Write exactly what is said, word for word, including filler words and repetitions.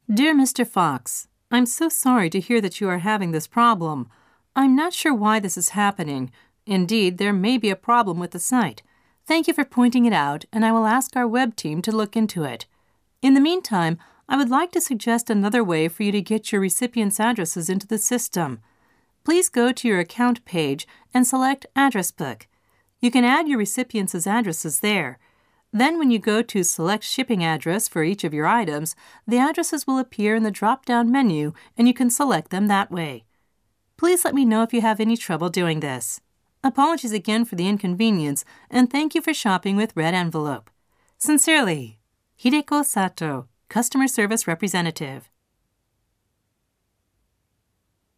Dear Mister Fox, I'm so sorry to hear that you are having this problem. I'm not sure why this is happening. Indeed, there may be a problem with the site. Thank you for pointing it out, and I will ask our web team to look into it. In the meantime, I would like to suggest another way for you to get your recipients' addresses into the system. Please go to your account page and select Address Book. You can add your recipients' addresses there. Then when you go to select shipping address for each of your items, the addresses will appear in the drop-down menu and you can select them that way. Please let me know if you have any trouble doing this. Apologies again for the inconvenience, and thank you for shopping with Red Envelope. Sincerely, Hideko Sato, Customer Service Representative.